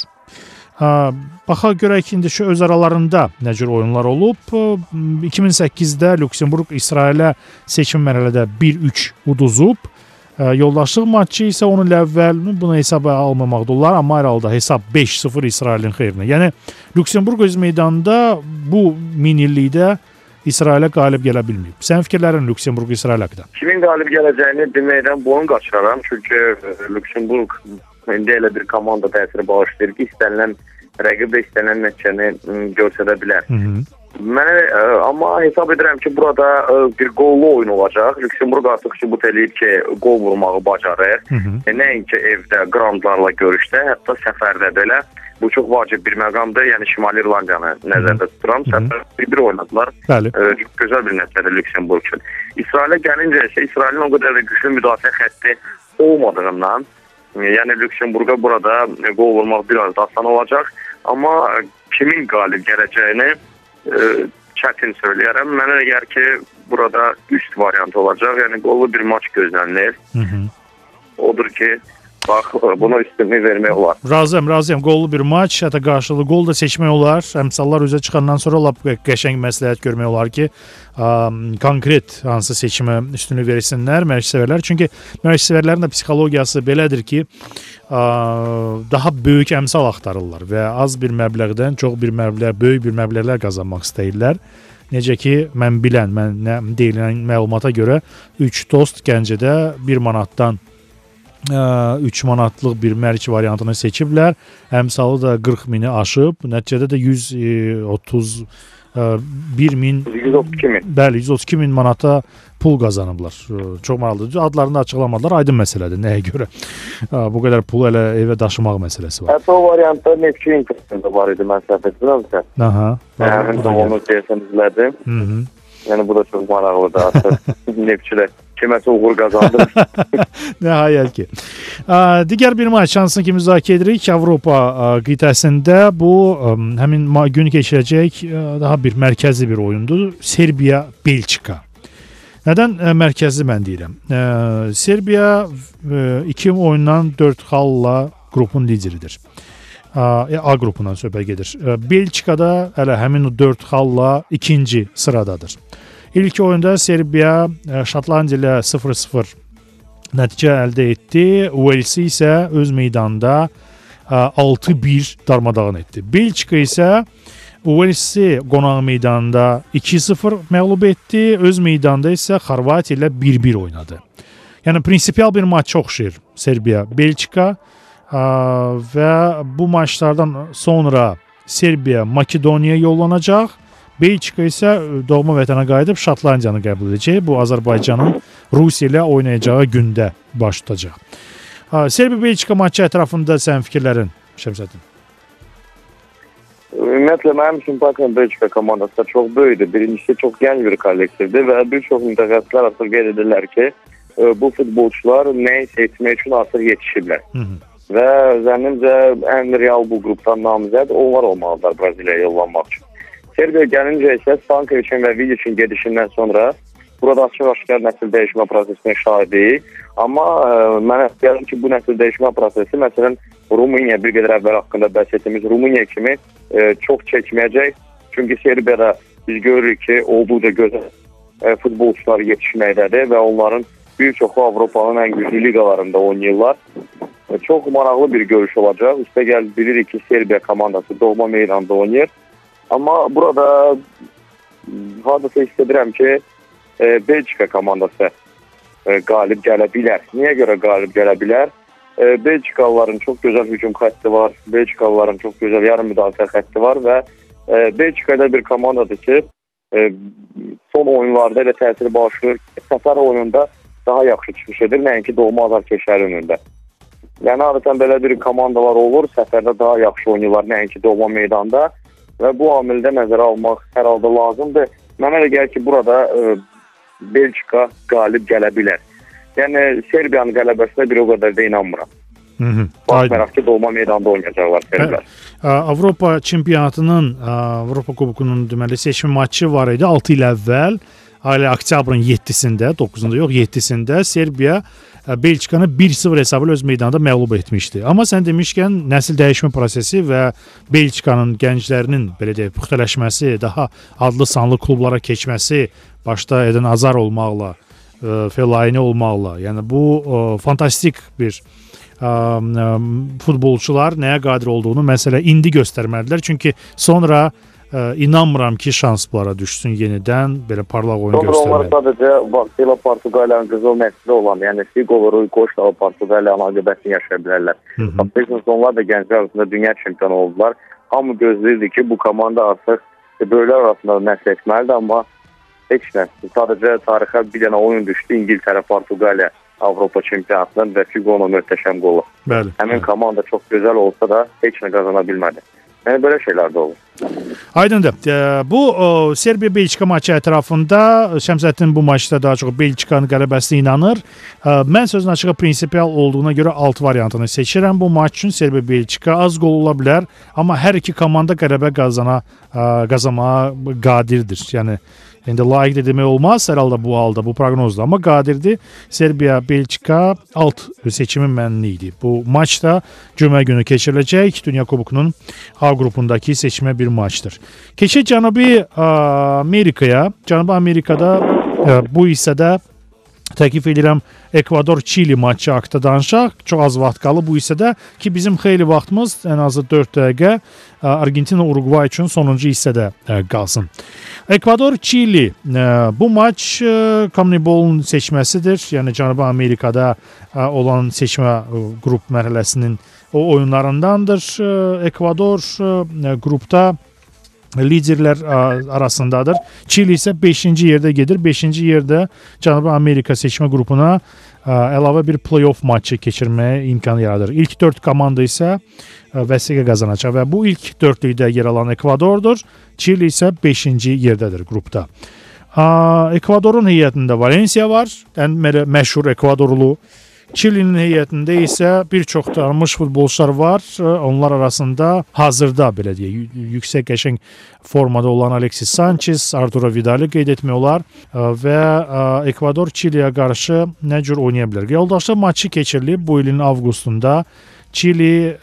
Ə, baxa görək indi şu öz aralarında nə cür oyunlar olub. iki min səkkizdə Lüksemburq İsrailə seçim mərhələdə bir üç uduzub. Yoldaşlıq maçı isə onun əvvəl buna hesaba almamaqda olar, amma hər halda hesab beş sıfır İsrailin xeyrinə. Yəni Lüksemburq öz meydanında bu minillikdə İsrailə qalib gələ bilməyib. Sənin fikirlərin Lüksemburq-İsrail haqqında? Kimin qalib gələcəyini deməkdən boyun qaçıraram. Çünki Lüksemburq indi elə bir komanda təsiri bağışlayır ki, istənilən rəqib də istənilən nəticəni göstərə bilər. Hı -hı. Mənə, amma hesab edirəm ki, burada bir qollu oyun olacaq. Lüksemburq artıq sübut eləyir ki, qol vurmağı bacarır. Hı -hı. E, nəinki evdə, qrandlarla görüşdə, hətta səfərdə belə. Bu çox vacib bir məqamdır. Yəni Şimali İrlandiyanı nəzərdə tuturam. Səfər bir-bir oynadılar. E, gözəl bir nəticədir Lüksemburq üçün. İsrailə gəlincə isə İsrailin o qədər də güclü müdafiə xətti olmadığından, yəni Lüksemburqa burada qol vurmaq biraz da asan olacaq. Amma kimin qalib gələcəyini e, çətin söyləyərəm. Mənə gəlir ki, burada üst variant olacaq. Yəni qollu bir maç gözlənilir. Hı -hı. Odur ki, Bax, buna üstünlük vermək olar. Razıyam, razıyam. Qollu bir maç, hətta qarşılıqlı gol da seçmək olar. Əmsallar üzə çıxandan sonra lap qəşəng məsləhət görmək olar ki, ə, konkret hansı seçimə üstünlük versinlər məşqçilər. Çünki məşqçilərin də psixologiyası belədir ki, ə, daha böyük əmsal axtarırlar və az bir məbləğdən çox bir məbləğ, böyük bir məbləğlər qazanmaq istəyirlər. Necə ki, mən bilən, mən nə deyilən məlumata görə üç dost Gəncədə bir manatdan üç manatlıq bir mərc variantını seçiblər. Əmsalı da qırx mini aşıb. Nəticədə də yüz otuz bir min, yüz otuz iki min. Bəli, yüz otuz iki min manata pul qazanıblar. Çox maraqlıdır. Adlarını da açıqlamadılar. Aydın məsələdir. Nəyə görə? Bu qədər pulu elə evə daşımaq məsələsi var. Hətta o variantda Neftçi impresiyonda var idi, mən səhv etmirəmsə. Aha. Həmin də onu deyəsən izlədim. Hı -hı. Yəni bu da çox maraqlıdır artıq. Neftçilər kiməsə uğur qazandı. Nəhayət ki. Digər bir maç şansını ki müzakirə edirik. Avropa qitəsində bu həmin gün keçirəcək daha bir mərkəzli bir oyundur. Serbiya-Belçika. Nədən mərkəzli mən deyirəm? Serbiya iki oyundan dörd xalla qrupun lideridir. A qrupundan söhbət gedir. Belçikada hələ həmin o dörd xalla ikinci sıradadır. İlk oyunda Serbiya Şotlandiya ilə sıfır sıfır nəticə əldə etdi. Uelsi isə öz meydanında altı bir darmadağın etdi. Belçika isə Uelsi qonaq meydanında iki sıfır məğlub etdi. Öz meydanda isə Xorvatiya ilə bir bir oynadı. Yəni prinsipial bir maç oxşayır Serbiya-Belçika və bu maçlardan sonra Serbiya Makedoniyaya yollanacaq. Belçika isə doğma vətənə qayıdıb Şotlandiyanı qəbul edəcək. Bu Azərbaycanın Rusiya ilə oynayacağı gündə baş tutacaq. Serbiya-Belçika maçı ətrafında sənin fikirlərin, Şəmsəddin? Ümumiyyətlə, mənim üçün Bakın Belçika komandası da çox böyükdür. Birincisi, çox gənc bir kollektivdir və bir çox mütəxəssislər artıq qeyd edirlər ki, bu futbolçular nəyisə etmək üçün artıq yetişiblər. Hı -hı. Və zənnimcə ən real bu qrupdan namizəd onlar olmalıdır Braziliyaya yollanmaq üçün. Serbiya gəlincə isə Stankovicin və Vidicin gedişindən sonra burada açıq-aşkar nəsil dəyişmə prosesinin şahidiyik. Amma ə, mənə gəlir ki, bu nəsil dəyişmə prosesi, məsələn, Rumıniya bir qədər əvvəl haqqında bəhs etdiyimiz Rumıniya kimi ə, çox çəkməyəcək. Çünki Serbiyada biz görürük ki, olduqca gözəl ə, futbolçular yetişməkdədir və onların bir çoxu Avropanın ən güclü liqalarında oynayırlar. Ə, çox maraqlı bir görüş olacaq. Üstəgəl bilirik ki, Serbiya komandası doğma meydanda oynayır. Amma burada hadisa hiss edirəm ki, e, Belçika komandası e, qalib gələ bilər. Niyə görə qalib gələ bilər? E, Belçikalıların çox gözəl hücum xətti var, Belçikalıların çox gözəl yarım müdafiə xətti var və e, Belçikada bir komandadır ki, e, son oyunlarda elə təsiri bağışlayır ki, səfər oyununda daha yaxşı çıxış edir, nəinki doğma azarkeşlər önündə. Yəni, adətən belə bir komandalar olur, səfərdə daha yaxşı oynayırlar, nəinki doğma meydanda. Və bu amildə nəzərə almaq hər halda lazımdır. Mənə elə gəlir ki, burada e, Belçika qalib gələ bilər. Yəni, Serbiyanın qələbəsinə bir o qədər də inanmıram. Baxmayaraq ki, doğma meydanda oynayacaqlar Serbiyar. Avropa çempionatının, Avropa kubukunun deməli seçim maçı var idi altı il əvvəl. Hələ oktyabrın yeddisində, doqquzunda yox, yeddisində Serbiya Belçikanı bir sıfır hesabı öz meydanında məğlub etmişdi. Amma sən demişkən nəsil dəyişmə prosesi və Belçikanın gənclərinin belə deyək, puxtələşməsi, daha adlı sanlı klublara keçməsi, başda Eden Hazard olmaqla, Fellaini olmaqla, yəni bu fantastik bir futbolçular nəyə qadir olduğunu məsələ indi göstərmədilər. Çünki sonra İnanmıram ki, şans bunlara düşsün yenidən belə parlaq oyun göstərməli. Onlar sadəcə vaxtilə Portuqaliyanın qızıl nəsli olan, yəni Figo və Rui Costa Portuqaliyanın aqibətini yaşaya bilərlər. Onlar da gənclər arasında dünya çempionu oldular. Hamı gözləyirdi ki, bu komanda artıq böyüklər arasında nəsl etməlidir, amma heç nə. Sadəcə tarixə bir dənə oyun düşdü, İngiltərə, Portuqaliya Avropa çempionatından və Figo'nun möhtəşəm qolu. Həmin komanda çox gözəl olsa da heç nə qazana bilmədi. Yəni, belə şeylər də olur. Aydındır. Bu Serbiya-Belçika maçı ətrafında Şəmsəddin bu maçda daha çox Belçikanın qələbəsinə inanır. Mən sözün açığı prinsipial olduğuna görə alt variantını seçirəm. Bu maç üçün Serbiya-Belçika az qol ola bilər, amma hər iki komanda qələbə qazana qazanmağa qadirdir. Yəni İndi layiq də demək olmaz hər halda bu halda, bu proqnozda. Amma qadirdir. Serbiya-Belçika alt seçimi mənli idi. Bu maç da cümə günü keçiriləcək. Dünya Kubokunun A qrupundakı seçmə bir maçdır. Keçək Cənubi Amerikaya. Cənubi Amerikada bu hissədə təklif edirəm Ekvador-Çili maçı haqqında danışaq. Çox az vaxt qalıb bu hissədə ki, bizim xeyli vaxtımız ən azı dörd dəqiqə Argentina-Uruguay üçün sonuncu hissədə qalsın. Ekvador-Çili bu maç CONMEBOL-un seçməsidir. Yəni Cənubi Amerikada olan seçmə qrup mərhələsinin o oyunlarındandır. Ekvador qrupda liderlər arasındadır. Çili isə beşinci yerdə gedir. beşinci yerdə Cənubi Amerika seçmə qrupuna əlavə bir play-off maçı keçirməyə imkan yaradır. İlk dörd komanda isə vəsiqə qazanacaq və bu ilk dördlükdə yer alan Ekvadordur. Çili isə beşinci yerdədir qrupda. Ekvadorun heyətində Valencia var, ən məşhur Ekvadorlu. Çilinin heyətində isə bir çox tanınmış futbolçular var. Onlar arasında hazırda belə deyək, yüksək qəşəng formada olan Alexis Sanchez, Arturo Vidal'i qeyd etmək olar və Ekvador Çiliyə qarşı nə cür oynaya bilər? Yoldaşlıq maçı keçirilib bu ilin avqustunda. Çili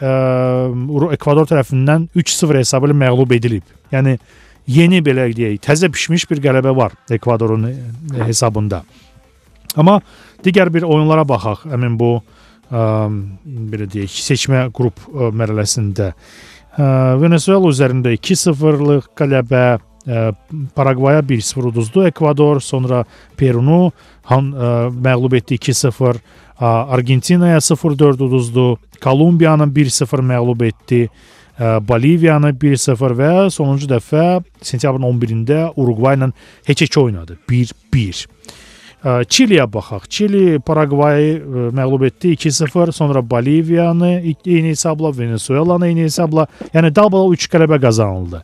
Ekvador tərəfindən üç sıfır hesabı ilə məğlub edilib. Yəni yeni belə deyək, təzə pişmiş bir qələbə var Ekvadorun hesabında. Amma digər bir oyunlara baxaq. Həmin bu ə, belə deyək, seçmə qrup ə, mərhələsində. Ə, Venezuela üzərində iki sıfırlıq qələbə, ə, Paragvaya bir sıfır uduzdu Ekvador, sonra Perunu han, ə, məğlub etdi iki sıfır, ə, Argentinaya sıfır dörd uduzdu, Kolumbiyanı bir sıfır məğlub etdi, ə, Boliviyanı bir sıfır və sonuncu dəfə sentyabrın on birində Uruguay ilə heç-heç oynadı. bir bir. Çiliyə baxaq. Çili Paragvayı məğlub etdi iki sıfır, sonra Boliviyanı eyni hesabla, Venezuelanı eyni hesabla, yəni double üç qələbə qazanıldı.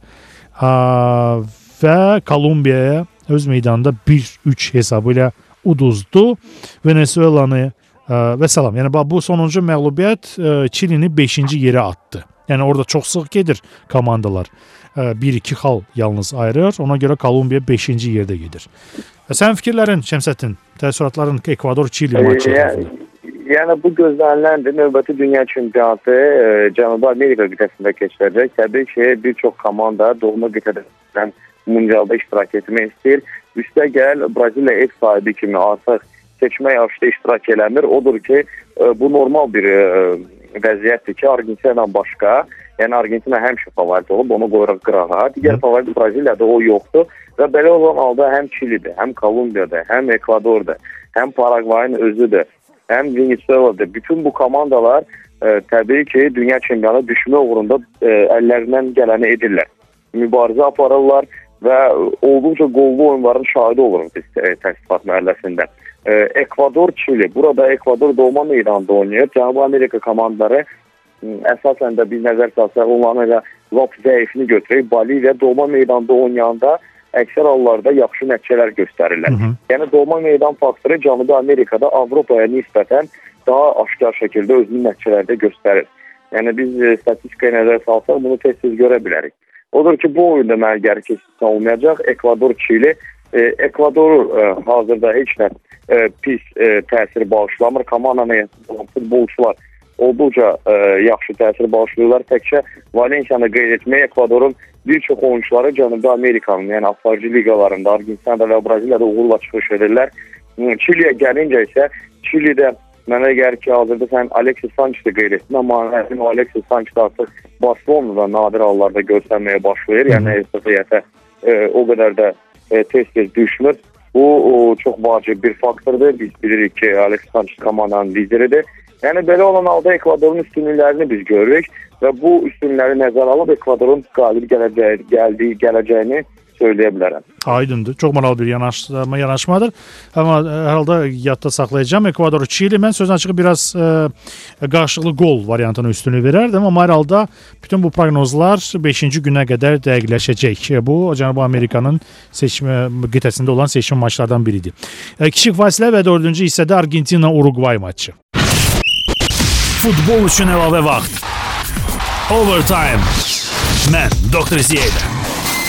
Və Kolumbiyaya öz meydanında bir üç hesabı ilə uduzdu Venezuelanı və salam. Yəni bu sonuncu məğlubiyyət Çilini beşinci yerə atdı. Yəni orada çox sıx gedir komandalar. bir iki xal yalnız ayırır. Ona görə Kolumbiya beşinci yerdə gedir. Sənin fikirlərin, Şəmsəddin, təəssüratların Ekvador-Çili maçı? Yəni, yəni bu gözləniləndir. Növbəti dünya çempionatı e, Cənubi Amerika qitəsində keçiriləcək. Təbii ki, bir çox komanda doğma qitədən mundialda iştirak etmək istəyir. Üstə gəl, Braziliya ev sahibi kimi artıq seçmə yarışda iştirak eləmir. Odur ki, e, bu normal bir e, vəziyyətdir ki, Argentinadan başqa, yəni Argentina həmişə favorit olub, onu qoyuraq qırağa. Digər favorit Braziliyada o yoxdur. Və belə olan halda həm Çilidir, həm Kolumbiyada, həm Ekvadorda, həm Paragvayın özüdür, həm Venezuela'da. Bütün bu komandalar e, təbii ki, dünya çempionatı düşmə uğrunda e, əllərindən gələni edirlər. Mübarizə aparırlar və olduqca qollu oyunların şahidi oluruq biz e, təsdiqat mərhələsində. E, Ekvador, Çili. Burada Ekvador doğma meydanında oynayır. Cənubi Amerika komandaları əsasən də biz nəzər salsaq, onların elə lap zəifini götürək. Boliviya doğma meydanda oynayanda əksər hallarda yaxşı nəticələr göstərirlər. Hı -hı. Yəni doğma meydan faktoru Cənubi Amerikada Avropaya nisbətən daha aşkar şəkildə özünün nəticələrdə göstərir. Yəni biz e, statistikaya nəzər salsaq bunu tez-tez görə bilərik. Odur ki, bu oyunda mənə gəri keçsin olmayacaq. Ekvador-Çili. E, Ekvador e, hazırda heç nə e, pis e, təsir bağışlamır. Komandanın futbolçular olduqca e, yaxşı təsir bağışlıyorlar. Təkcə Valenciyanı qeyd etmək, Ekvadorun bir çox oyuncuları Cənubi Amerikanın, yəni aparıcı liqalarında, Argentinada və Braziliyada uğurla çıxış edirlər. Çiliyə gəlincə isə, Çilidə mənə gəlir ki, hazırda sən Alexis Sanchez'i qeyd etdin, amma o Alexis Sanchez artıq Barcelona'da nadir hallarda görsənməyə başlayır. Yəni heyətə e, o qədər də e, tez-tez düşmür. Bu o, çox vacib bir faktordur. Biz bilirik ki, Alexis Sanchez komandanın lideridir. Yəni belə olan halda Ekvadorun üstünlüklərini biz görürük və bu üstünləri nəzərə alıb Ekvadorun qalib gələcəyi, gəldiyi, gələcəyini söyləyə bilərəm. Aydındır. Çox maraqlı bir yanaşma, yanaşmadır. Amma hər halda yadda saxlayacağım. Ekvador, Çili. Mən sözün açığı biraz e, qarşılıqlı gol variantına üstünlük verərdim. Amma hər halda bütün bu proqnozlar beşinci günə qədər dəqiqləşəcək. Bu, Cənubi Amerikanın seçmə qitəsində olan seçim maçlardan biridir. E, kiçik fasilə və dördüncü hissədə Argentina-Uruguay maçı. Futbol üçün əlavə vaxt. Overtime. Mən Doktor Ziyədə.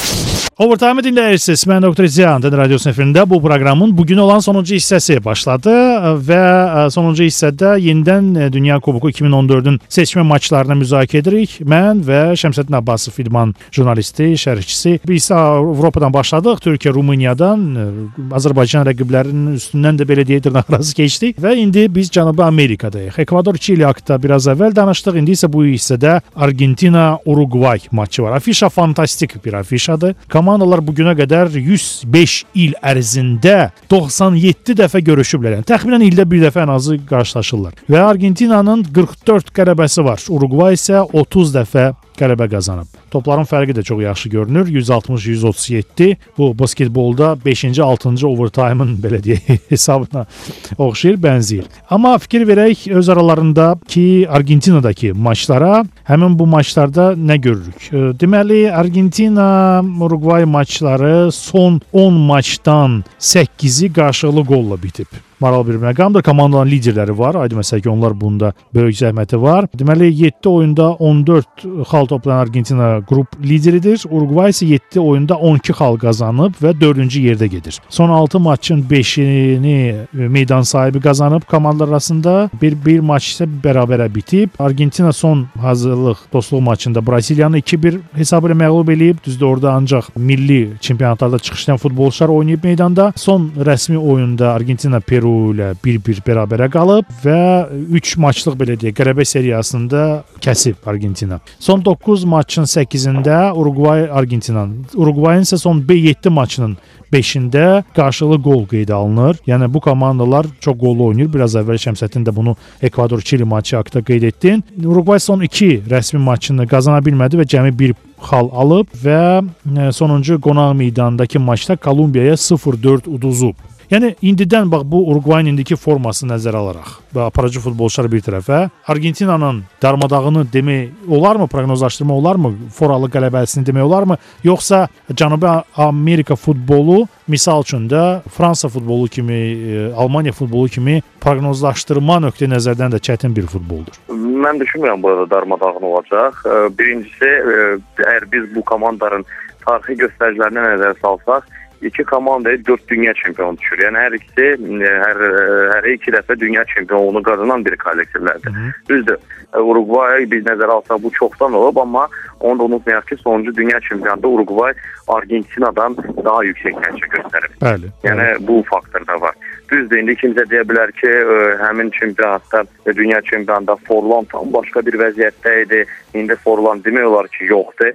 Overtime dinləyirsiniz. Mən Doktor Ziyan radiosunun efirində bu proqramın bugün olan sonuncu hissəsi başladı və sonuncu hissədə yenidən Dünya Kuboku iki min on dördün seçmə maçlarını müzakirə edirik. Mən və Şəmsəddin Abbasov idman jurnalisti, şərhçisi. Biz Avropadan başladıq, Türkiyə, Rumıniyadan, Azərbaycan rəqiblərinin üstündən də belə deyək dırnaqarası keçdik və indi biz Cənubi Amerikadayıq. Ekvador Çili haqqında biraz əvvəl danışdıq. İndi isə bu hissədə Argentina-Uruguay maçı var. Afişa fantastik bir afişadır. Komandalar bugünə qədər yüz beş il ərzində doxsan yeddi dəfə görüşüblər. Yəni təxminən ildə bir dəfə ən azı qarşılaşırlar. Və Argentinanın qırx dörd qələbəsi var. Uruguay isə otuz dəfə qələbə qazanıb. Topların fərqi də çox yaxşı görünür. yüz altmış yüz otuz yeddi. Bu basketbolda beşinci altıncı overtime-ın belə deyək hesabına oxşayır, bənzəyir. Amma fikir verək öz aralarındakı Argentinadakı maçlara. Həmin bu maçlarda nə görürük? Deməli, Argentina-Uruguay maçları son on maçdan səkkizi qarşılıqlı qolla bitib. Maral bir məqamdır. Komandanın liderləri var. Aydın məsələ ki, onlar bunda böyük zəhməti var. Deməli, yeddi oyunda on dörd xal toplayan Argentina qrup lideridir. Uruguay isə yeddi oyunda on iki xal qazanıb və dördüncü yerdə gedir. Son altı maçın beşini meydan sahibi qazanıb komandalar arasında. Bir, bir maç isə bərabərə bitib. Argentina son hazırlıq dostluq maçında Braziliyanı iki bir hesabı ilə məğlub eləyib. Düzdür, orada ancaq milli çempionatlarda çıxışlayan futbolçular oynayıb meydanda. Son rəsmi oyunda Argentina Peru ilə bir bir bərabərə qalıb və üç maçlıq belə deyək qələbə seriyasında kəsib Argentina. Son doqquz maçın səkkizində Uruguay Argentinanın, Uruguayın isə son yeddi maçının beşində qarşılıqlı qol qeydə alınır. Yəni bu komandalar çox qollu oynayır. Biraz əvvəl Şəmsəddin də bunu Ekvador Çili maçı haqqında qeyd etdin. Uruguay son iki rəsmi maçını qazana bilmədi və cəmi bir xal alıb və sonuncu qonaq meydandakı maçda Kolumbiyaya sıfır dörd uduzub. Yəni indidən bax bu Uruguayın indiki formasını nəzərə alaraq və aparıcı futbolçular bir tərəfə Argentinanın darmadağını demək olarmı, proqnozlaşdırma olarmı, foralı qələbəsini demək olarmı, yoxsa Cənubi Amerika futbolu misal üçün də Fransa futbolu kimi, Almaniya futbolu kimi proqnozlaşdırma nöqteyi nəzərdən də çətin bir futboldur. Mən düşünmürəm burada darmadağın olacaq. Birincisi, əgər biz bu komandaların tarixi göstəricilərinə nəzər salsaq, İki komandaya dört dünya çempionu düşür. Yəni hər ikisi hər, hər iki dəfə dünya çempionluğunu qazanan bir kollektivlərdir. Düzdür, Uruguay biz nəzərə alsaq bu çoxdan olub, amma onu da unutmayaq ki, sonuncu dünya çempionatında Uruguay Argentinadan daha yüksək nəticə göstərib. Bəli. Yəni bu faktor da var. Düzdür, indi kimsə deyə bilər ki, həmin çempionatda, dünya çempionatında Forlan tam başqa bir vəziyyətdə idi. İndi Forlan demək olar ki, yoxdur.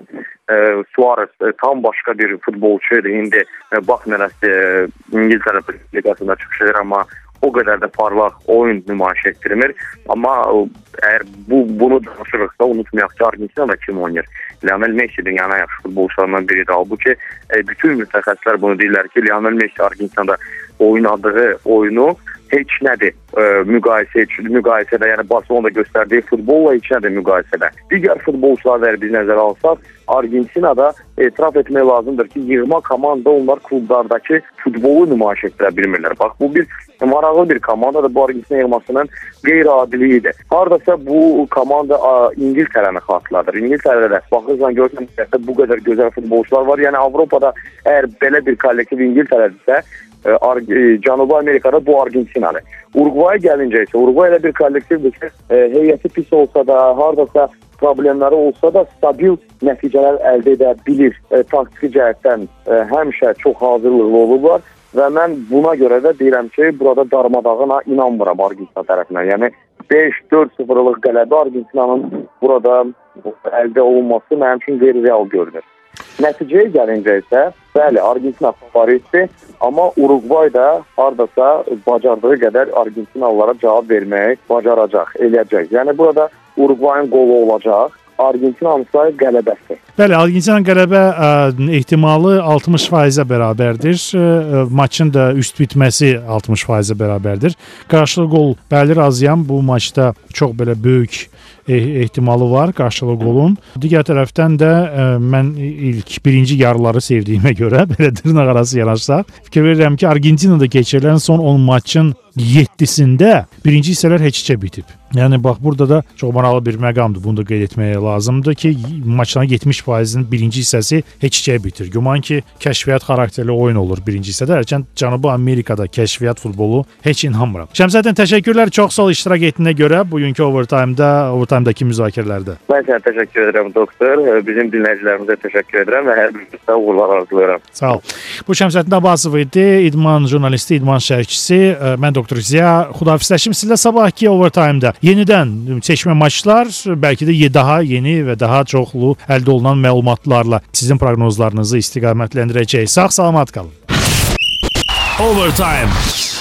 Suarez tam başqa bir futbolçuydu. İndi baxmayaraq İngiltərə liqasında çıxış edir, amma o qədər də parlaq oyun nümayiş etdirmir. Amma əgər bu, bunu danışırıqsa, unutmayaq ki, Argentinada kim oynayır? Lionel Messi dünyanın yaxşı futbolçularından biridir. Halbuki bütün mütəxəssislər bunu deyirlər ki, Lionel Messi Argentinada oynadığı oyunu heç nədir e, müqayisə, müqayisədə, yəni Barcelonada göstərdiyi futbolla heç nədir müqayisədə. Digər futbolçular biz nəzərə alsaq, Argentinada etiraf etmək lazımdır ki, yığma komanda onlar klublardakı futbolu nümayiş etdirə bilmirlər. Bax, bu bir maraqlı bir komandadır. Bu Argentina yığmasının qeyri-adiliyidir. Haradasa bu komanda İngiltərəni xatırladır. İngiltərədə baxırsan görürsən ki, bu qədər gözəl futbolçular var. Yəni Avropada əgər belə bir kollektiv İngiltərədirsə, Cənubi Amerikada bu Argentinadır. Uruguaya gəlincə isə, Uruguay elə bir kollektivdir ki, heyəti pis olsa da, haradasa problemləri olsa da stabil nəticələr əldə edə bilir. E, taktiki cəhətdən e, həmişə çox hazırlıqlı olublar və mən buna görə də deyirəm ki, burada darmadağına inanmıram Argentina tərəfindən. Yəni beş dörd sıfırlıq qələbə Argentinanın burada əldə olunması mənim üçün qeyri-real görünür. Nəticəyə gəlincə isə, bəli, Argentina favoritdir, amma Uruguay da hardasa bacardığı qədər Argentinalılara cavab verməyi bacaracaq, eləyəcək. Yəni burada Uruguayın qolu olacaq, Argentinanın sayı qələbəsi. Bəli, Argentinanın qələbə ə, ehtimalı altmış faizə bərabərdir. Ə, maçın da üst bitməsi altmış faizə bərabərdir. Qarşılıqlı qol bəli razıyam. Bu maçda çox belə böyük ehtimalı var qarşılıqlı qolun. Digər tərəfdən də ə, mən ilk birinci yarıları sevdiyimə görə belə dırnaq arası yanaşsaq, fikir verirəm ki, Argentinada keçirilən son on maçın yeddisində birinci hissələr heç-heçə bitib. Yəni bax burada da çox maraqlı bir məqamdır. Bunu da qeyd etməyə lazımdır ki, maçların yetmiş faizinin birinci hissəsi heç-heçə bitir. Güman ki, kəşfiyyat xarakterli oyun olur birinci hissədə. Hərçənd Cənubi Amerikada kəşfiyyat futbolu heç inanmıram. Şəmsəddin, təşəkkürlər çox sağ ol iştirak etdiyinə görə bugünkü overtime-da, overtime-dakı müzakirələrdə. Mən sənə təşəkkür edirəm doktor. Bizim dinləyicilərimizə təşəkkür edirəm və hər birinizə uğurlar arzulayıram. Sağ ol. Bu Şəmsəddin Abbasov idi, idman jurnalisti, idman şərhçisi. Mən doktor Ziya. Xudahafizləşim sizlə sabahki overtime-da. Yenidən seçmə maçlar, bəlkə də daha yeni və daha çoxlu əldə olunan məlumatlarla sizin proqnozlarınızı istiqamətləndirəcək. Sağ-salamat qalın. Overtime.